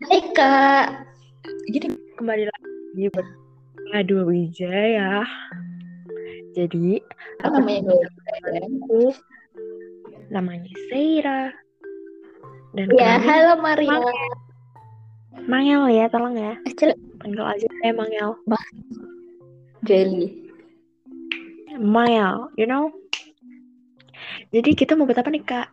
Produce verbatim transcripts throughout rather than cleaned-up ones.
Hai Kak, Jadi kembali lagi bersama Dua Wijaya. Jadi apa aku namanya dulu? temanku namanya Seira dan Ya, kenalin halo Maria. Mangel. Mangel ya, tolong ya. Acel, Panggil aja saya Mangel. Jelly. Mangel, you know. Jadi kita mau buat apa nih Kak?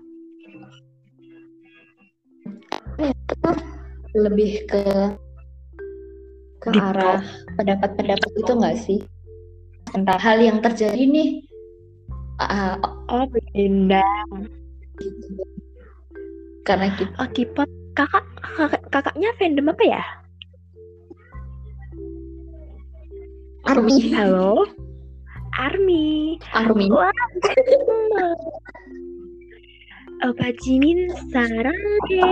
Lebih ke ke Deep arah pendapat-pendapat itu nggak sih tentang hal yang terjadi nih? Ah, Oh, benda. karena kita Oh, K-pop. Kakak, kakak kakaknya fandom apa ya? Army, Halo, Army. Army. Wah, Opa Jimin Sarange.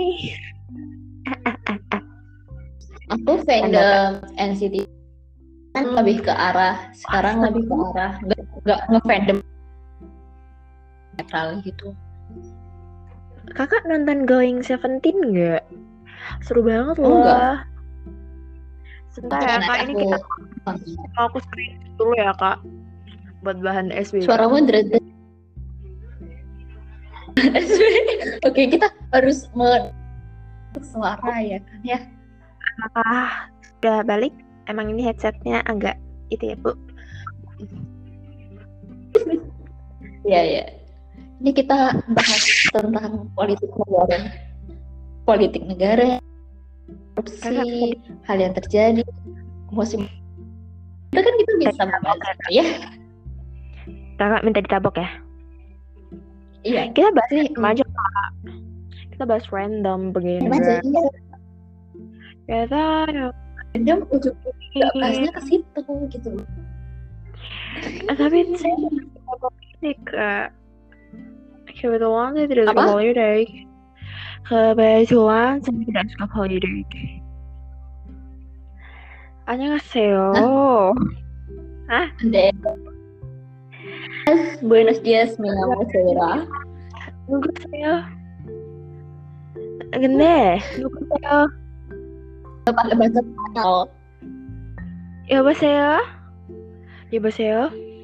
Aku fandom N C T kan lebih ke arah sekarang Wah, lebih ke arah nggak nggak ngefandom netral gitu. Kakak nonton Going Seventeen nggak? Seru banget Oh enggak, loh. Sebentar ya nanti kak, ini aku kita mau aku screen dulu ya kak, buat bahan S W K. suaramu dread. Oke, kita harus me suara ya kan ya. Ah, udah balik. Emang ini headsetnya agak itu ya bu. Iya ya. Ini kita bahas tentang politik negara, politik negara, korupsi, hal yang terjadi, musim. Itu kan kita bisa membahas itu ya. Kakak minta ditabok ya. Iya. Kita bahas Ini random aja kak. Kita bahas random begini. aja ya. Kita Random ujung-ujungnya bahasnya ke situ gitu. tapi saya suka politik kak. Kebetulan saya tidak suka Apa? politik. Kebetulan saya tidak suka politik. 안녕하세요. Hah? Ande. Buenos dias, mi nama Sarah. 누구세요? 근데 누구세요? Pakai bahasa Spanyol. 여보세요? 여보세요?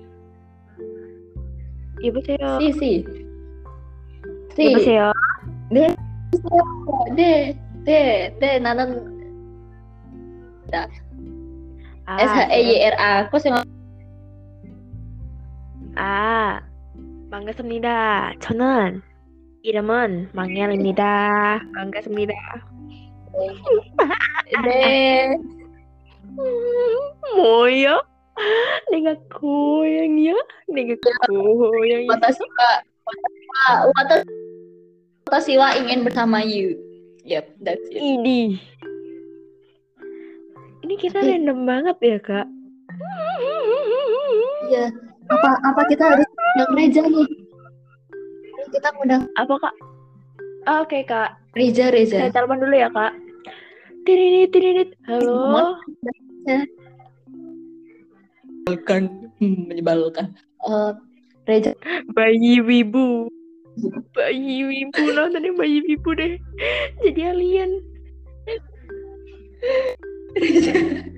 여보세요? Si si. Si. 여보세요? 네. 네. 네. 네. 나는 S H E Y R A. Kok sih? 아, 반갑습니다. 저는 이름은 망엘입니다. 반갑습니다. 네. 뭐야? 내가 고양이야? 내가 고양이. Watashi wa Watashi Watashi wa ingin bersama you. Yep, that's it. Ini. Ini kita random banget ya, Kak. Iya. Apa apa kita harus undang Reza nih? Kita undang Apa, Kak? Oh, oke, okay, Kak. Reza Reza. Saya telepon dulu ya, Kak. Tirinit, tirinit. Halo. Menyebalkan, menyebalkan. Uh, Reza. Bayi wibu. Bayi wibu, nontonnya bayi wibu deh. Jadi alien. Reza.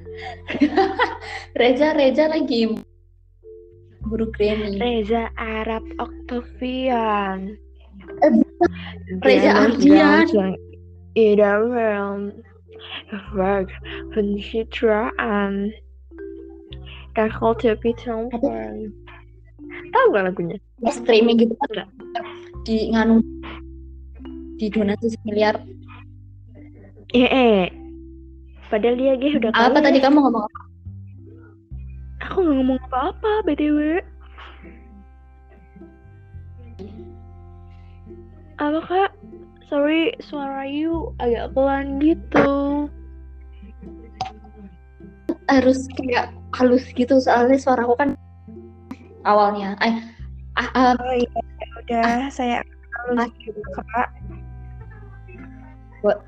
Reza Reza lagi buru Grammy. Reza Arab Octavian. Eh, Reza Ardian. Idaman. Work pencitraan. Dan culture pitangpan. Tahu gak lagunya? Ya, streaming gitu kan di nganu di donasi miliar. Eh, eh. Padahal dia ge udah apa kaya. Tadi kamu ngomong apa? Aku gak ngomong apa-apa B T W. Apa kak? Sorry, suara you agak pelan gitu. Harus kayak halus gitu soalnya suaraku kan awalnya. Eh, ah, ah, oh iya, udah ah, saya halus gitu kak. What?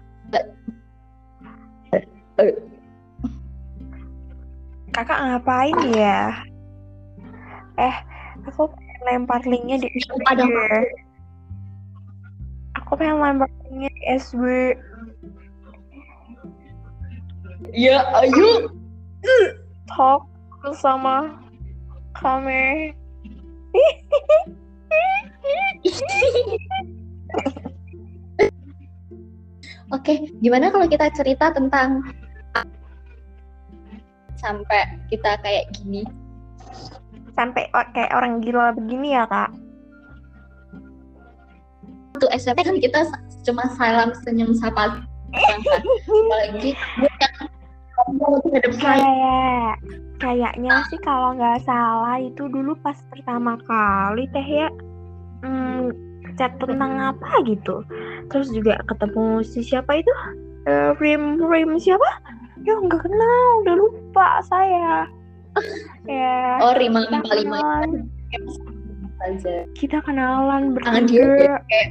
Kakak ngapain ya? Eh, aku pengen lempar linknya di S W. Aku pengen lempar linknya di S W. Ya, ayo. talk sama kami. Oke, gimana kalau kita cerita tentang sampai kita kayak gini? Sampai o- kayak orang gila begini ya, Kak? Waktu S M P kan kita cuma salam senyum sapa. Apalagi buat yang kamu terhadap saya. Kayak kayaknya sih kalau nggak salah itu dulu pas pertama kali teh ya hmm, chat tentang apa gitu. Terus juga ketemu si siapa itu? Eh, Rim Rim siapa? Ya nggak kenal, udah lupa saya. Ya, Oh, Rima kita lima lima kenalan, aja. kita kenalan Tangan dia bertiga. ya, kayak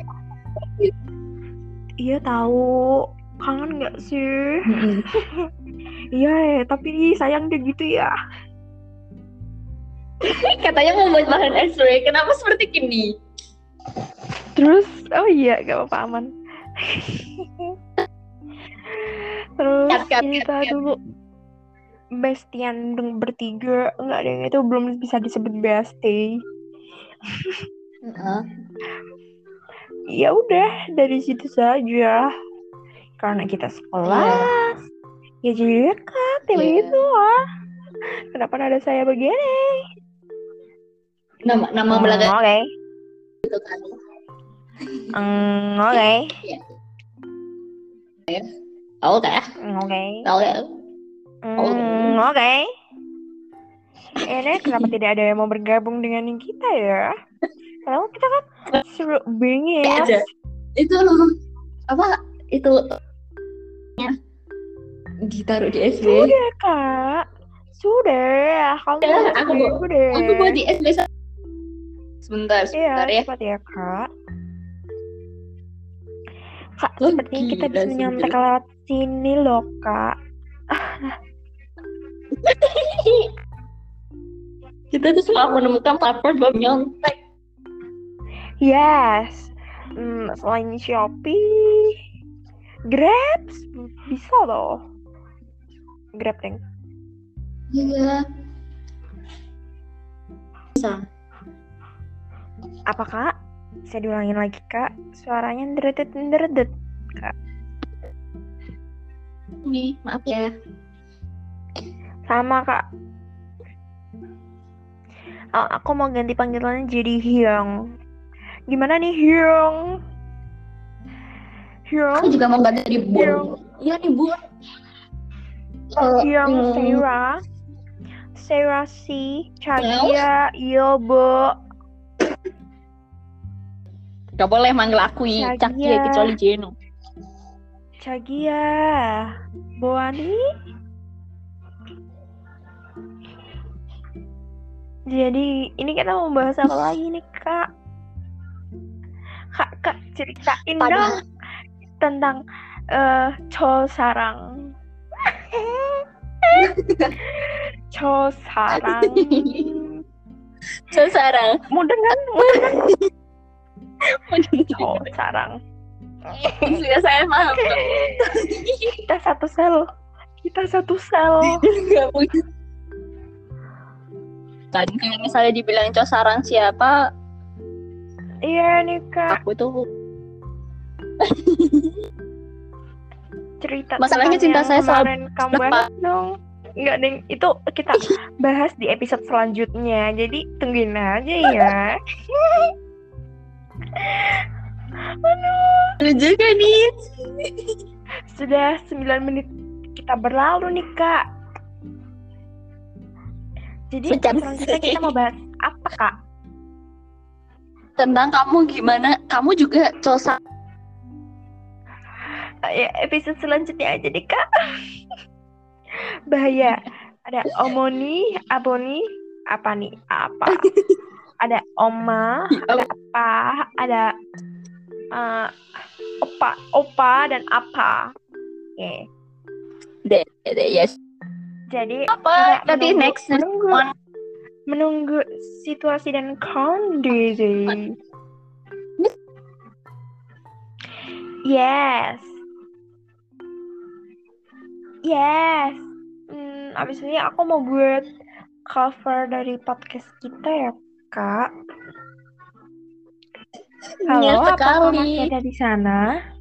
Iya tahu, kangen nggak sih? mm-mm. Iya, eh, tapi sayang dia gitu ya. Katanya mau buat bahan S W. Kenapa seperti ini? Terus, oh iya, gak apa-apa aman. Terus Cut, cut, kita cut, cut. dulu bestian deng- bertiga, enggak ada yang itu belum bisa disebut bestie. Uh-uh. Ya udah dari situ saja. Karena kita sekelas, ya jadi dekat, ya Yeah. begitu lah. Kenapa ada saya begini? Nama nama Hmm, belakang Oke, gitu kan. Hmm, oke, Oke. oke, Oke. Hmm, oke. Ini kenapa tidak ada yang mau bergabung dengan kita ya? Padahal kita kan seru bingit. Aja. Itu apa? Itu ya, ditaruh di S W. Sudah kak, sudah. Kamu Ya, S D, aku mau- sudah. Aku mau di S W. Sebentar, sebentar Iya, ya. cepat ya kak. Kak, Oh, sepertinya kita gila bisa sih, nyontek gila. lewat sini loh kak. Kita tuh selalu menemukan platform buat nyontek. Yes. Hmm, selain Shopee, Grab bisa loh. Grab deng. Iya. Bisa. Apa kak? Bisa diulangin lagi kak? Suaranya deredet deredet kak. Nih, maaf ya. Sama kak. Oh, aku mau ganti panggilannya jadi Hyung. Gimana nih Hyung? Aku Hyung? juga mau ganti di Bun. Hyung? Iya nih Bun. Uh, Hyung hmm, Sarah? Sarah si Chagia Yobo. Gak boleh manggil aku Chagia. Cakia kecuali Jeno. Chagia Boani. Jadi ini kita mau bahas apa lagi nih kak? Kak, kak ceritain Pada- dong tentang eh Cho Sarang. Cho Sarang. Sesarang. Mau dengar? Mau dengar? Cho Sarang. Sudah saya paham. Kita satu sel. Kita satu sel. Gak punya. Kan kalau misalnya dibilang Cosarang siapa, Iya nih kak. aku tuh Cerita Masalahnya tentang cinta yang saya selalu kemarin kamu bahas dong. Enggak deng, itu kita bahas di episode selanjutnya. Jadi tungguin aja ya. lucu kan nih. Sudah sembilan menit kita berlalu nih kak. Jadi Bentar. selanjutnya kita mau bahas apa kak? Tentang kamu gimana? Kamu juga Cosa. Ya, episode selanjutnya aja deh kak. Bahaya. Ada Omoni, Aboni, apa nih? Apa? Ada Oma, ada apa? Ada uh, Opa, Opa dan apa? Oke. Deh, deh, yes. Jadi Apa? kita Nanti menunggu, next menunggu, one. menunggu situasi dan kondisi. Yes. Yes. Hmm, abis ini aku mau buat cover dari podcast kita ya, Kak. Halo, Iya apakah sekali. masih ada di sana?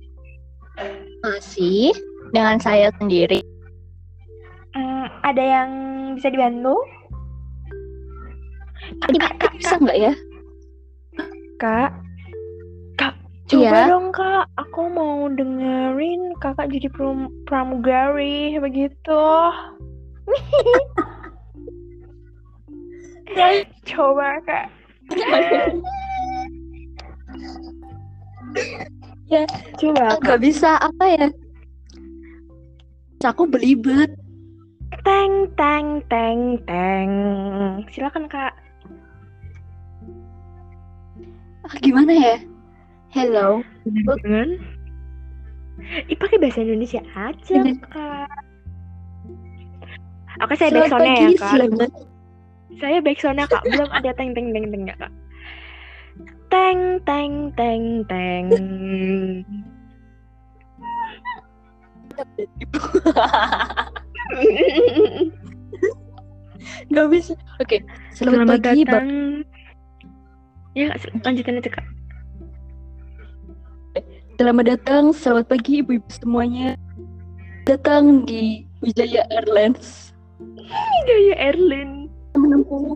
Masih dengan saya sendiri. Hmm, ada yang bisa dibantu? Ini bisa nggak ya? Kak, Kak, coba Iya. dong Kak. Aku mau dengerin Kakak jadi pram- pramugari begitu. Coba Kak. Ya, Coba nggak Kak. bisa apa ya? Aku belibet. Teng teng teng teng. Silakan Kak. Ah, gimana ya? Hello. Dengan Ih, pakai bahasa Indonesia aja, Bener. Kak. Oke, saya Selamat backsoundnya pagi, ya, Kak. selamat. Saya backsoundnya, Kak. Belum ada teng teng teng teng ya, Kak. Teng teng teng teng. Gak bisa. Oke, selamat, Selamat pagi, Bang. datang. Ya, Kak, lanjutin aja, Kak. Selamat datang, selamat pagi ibu-ibu semuanya. Datang di Wijaya Airlines. Wijaya Airlines. Menempuh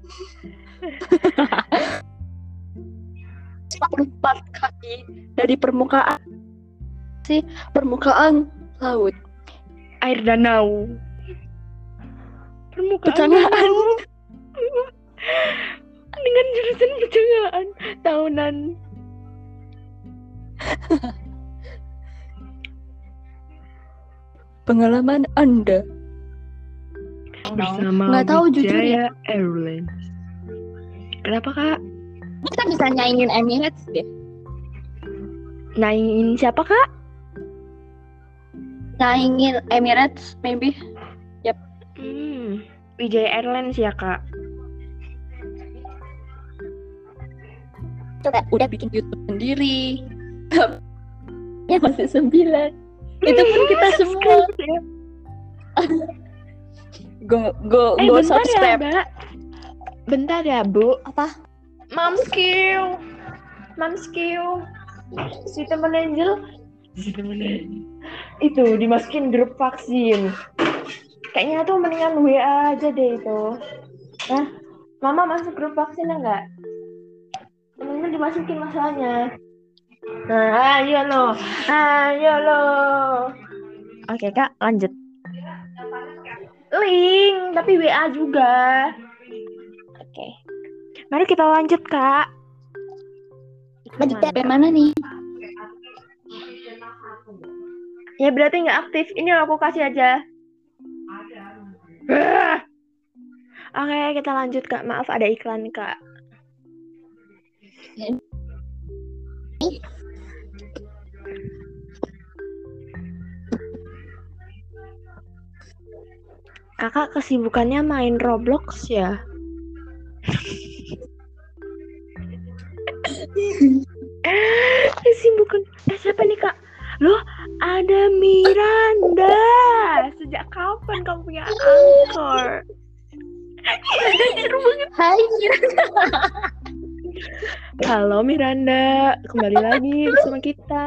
lima puluh empat kaki dari permukaan si permukaan laut. Air danau. Permukaan Pecangaan. danau. Dengan jurusan pecangaan tahunan. Pengalaman Anda. Bersama Nggak tahu jujur Wijaya ya. Airlines. Kenapa, Kak? Kita bisa nyaingin Emirates deh. Naingin siapa, Kak? Nyaingin Emirates maybe. Hmm, Wijaya Airlines ya, Kak. Coba udah bikin YouTube sendiri. Ya masih sembilan. Itu pun kita semua. Go go Eh, go bentar subscribe. ya, Mbak. Bentar ya, Bu. Apa? Mamskiu. Mamskiu. Si temen Angel. Si temen Angel. Itu dimasukin grup vaksin. Kayaknya tuh mendingan W A aja deh itu. Nah, Mama masuk grup vaksin enggak? Temennya dimasukin masalahnya. Nah, ayo lo. Ayo lo. Oke, Kak, lanjut. Link, tapi W A juga. Oke. Mari kita lanjut, Kak. Lanjut sampai mana nih? Ya berarti nggak aktif. Ini aku kasih aja. Ah. Oke, kita lanjut, Kak. Maaf ada iklan, Kak. Kakak kesibukannya main Roblox ya? Kesibukan eh siapa nih, Kak? Loh, ada Miranda. Sejak kapan kamu punya Anchor? Seru banget. Hai Miranda. Halo Miranda, kembali lagi bersama kita.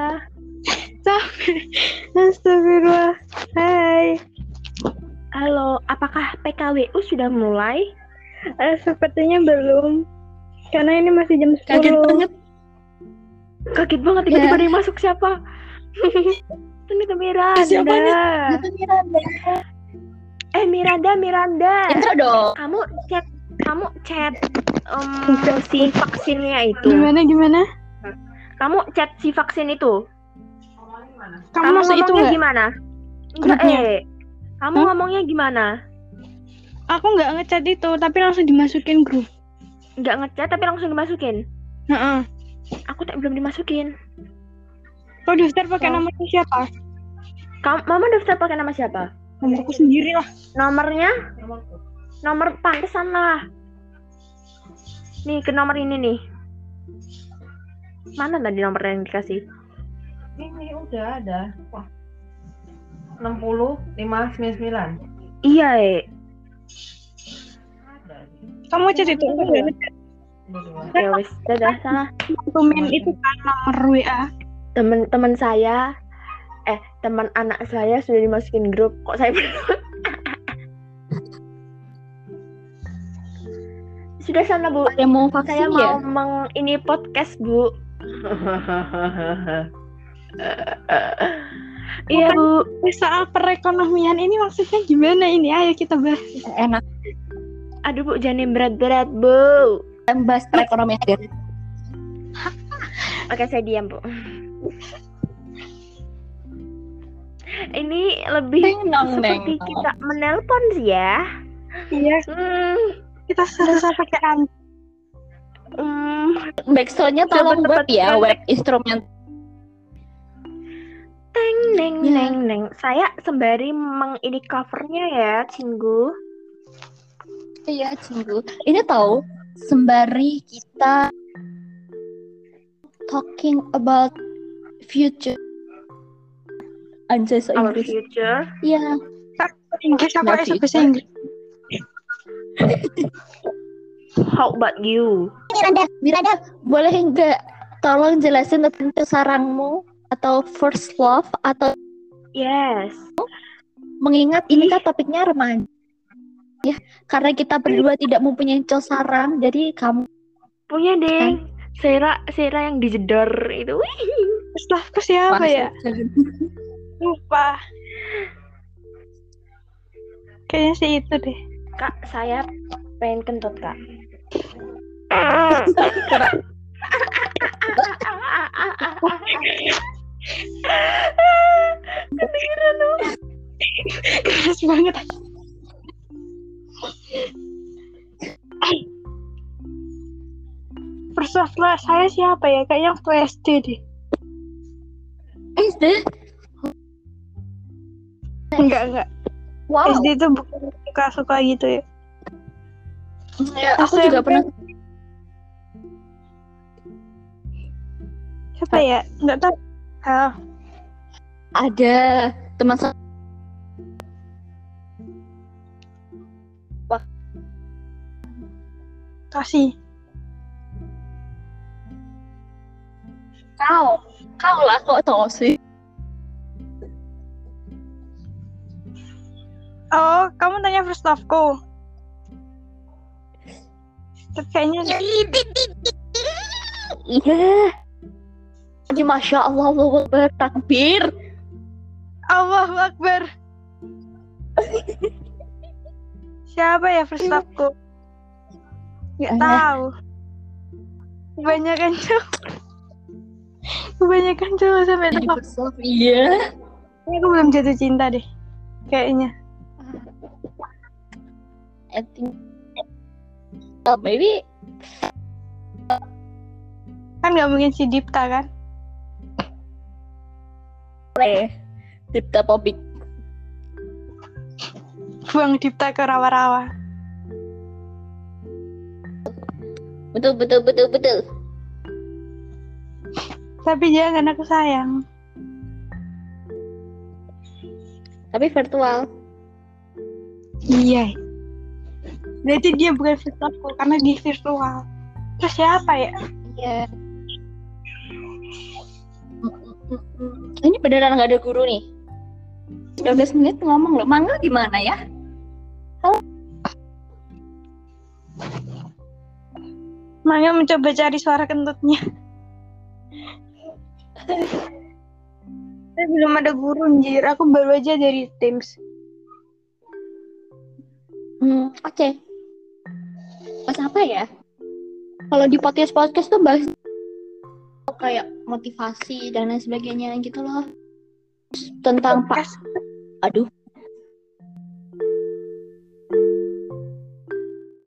Astagfirullah. Hai. Halo, apakah P K W U sudah mulai? Eh, sepertinya belum. Karena ini masih jam sepuluh. Kaget banget. Kaget banget tiba-tiba ada yang masuk siapa? Ternyata Miranda. Siapa nih? Itu Miranda. Eh Miranda, Miranda. Intro dong. Kamu chat, kamu chat um, si vaksinnya itu. Gimana gimana? Kamu chat si vaksin itu. Kamu, Kamu masuk itu ngomongnya nggak? gimana? Enggak, Grupnya? eh. Kamu Hah? ngomongnya gimana? Aku nggak ngechat itu, tapi langsung dimasukin grup. Enggak ngechat tapi langsung dimasukin. Heeh. Aku tak belum dimasukin. Kau daftar pakai Oh. namanya siapa? Kamu, Mama daftar pakai nama siapa? Nomorku sendiri lah. Nomornya? Nomor pantesan lah. Nih ke nomor ini nih. Mana tadi nomor yang dikasih? Ini udah ada. Wah. enam puluh lima sembilan puluh sembilan. Iya, eh. Kamu cerita Udah dua. Ya wis, dadah sana. dokumen itu kan nomor W A. Teman-teman saya eh teman anak saya sudah dimasukin grup. Kok saya belum? Sudah sana, Bu. Ada mau vaksin Saya ya? mau meng ini podcast, Bu. Iya, Bu. Soal perekonomian ini maksudnya gimana ini? Ayo kita bahas. Enak. Aduh, Bu, jangan yang berat-berat, Bu. Bahas perekonomian. Oke, saya diam, Bu. Ini lebih Neng, nong, seperti neng, nong. kita menelpon sih ya. Iya, Hmm, kita susah pakai an. hmm. Backsoundnya tolong Coba buat ya tebak- web instrumen. Teng neng Ya. neng neng. Saya sembari meng ini covernya ya, Cinggu. Iya, Cinggu. Ini tahu sembari kita talking about future. Anjay, so Our Inggris. future. Iya. Inggris aku Nggak bisa bisa. bahasa Inggris. How about you? Miranda, Miranda, boleh nggak tolong jelasin tentang sarangmu atau first love atau Yes. mengingat ini kan topiknya remaja. Ya, karena kita berdua tidak mempunyai cowok sarang, jadi kamu Punya deh. Sera Sera yang dijedor itu. Wih. Setelahku siapa ya? Lupa. Kayaknya sih itu deh. Kak, saya pengen kentut, Kak. Keras banget. First love lah, saya siapa ya? Kayaknya waktu S D deh. S D? Enggak, enggak. Wow. S D itu bukan suka-suka gitu ya. Ya, aku S M P. juga pernah. Siapa ya? Enggak tahu. Ah, Ada teman saya. kasih. Kau, kau lah kok tahu sih. Oh, kamu tanya first love-ku. Tapi kayaknya Iya. Jadi masya Allah, Allahu Akbar, takbir. Allahu Akbar. Siapa ya first love-ku? Nggak Eh. tahu. Kebanyakan cowok. Kebanyakan cowok sampai Jadi tetap. first love, iya. Aku belum jatuh cinta deh. Kayaknya. I think uh, maybe Kan nggak mungkin si Dipta kan? boleh Dipta topik. Buang Dipta ke rawa-rawa. Betul betul betul betul. Tapi jangan, aku sayang. Tapi virtual. Iya. Berarti dia bukan first love-ku karena dia virtual. Terus siapa ya? Iya. Ini beneran nggak ada guru nih. dua belas menit ngomong loh. Mangga gimana ya? Mangga mencoba cari suara kentutnya. Tapi belum ada guru, anjir. Aku baru aja dari Teams. Hmm, oke. Okay. Bahas apa ya? Kalau di podcast podcast tuh bahas kayak motivasi dan lain sebagainya gitu loh. Tentang pak, Podcast. aduh,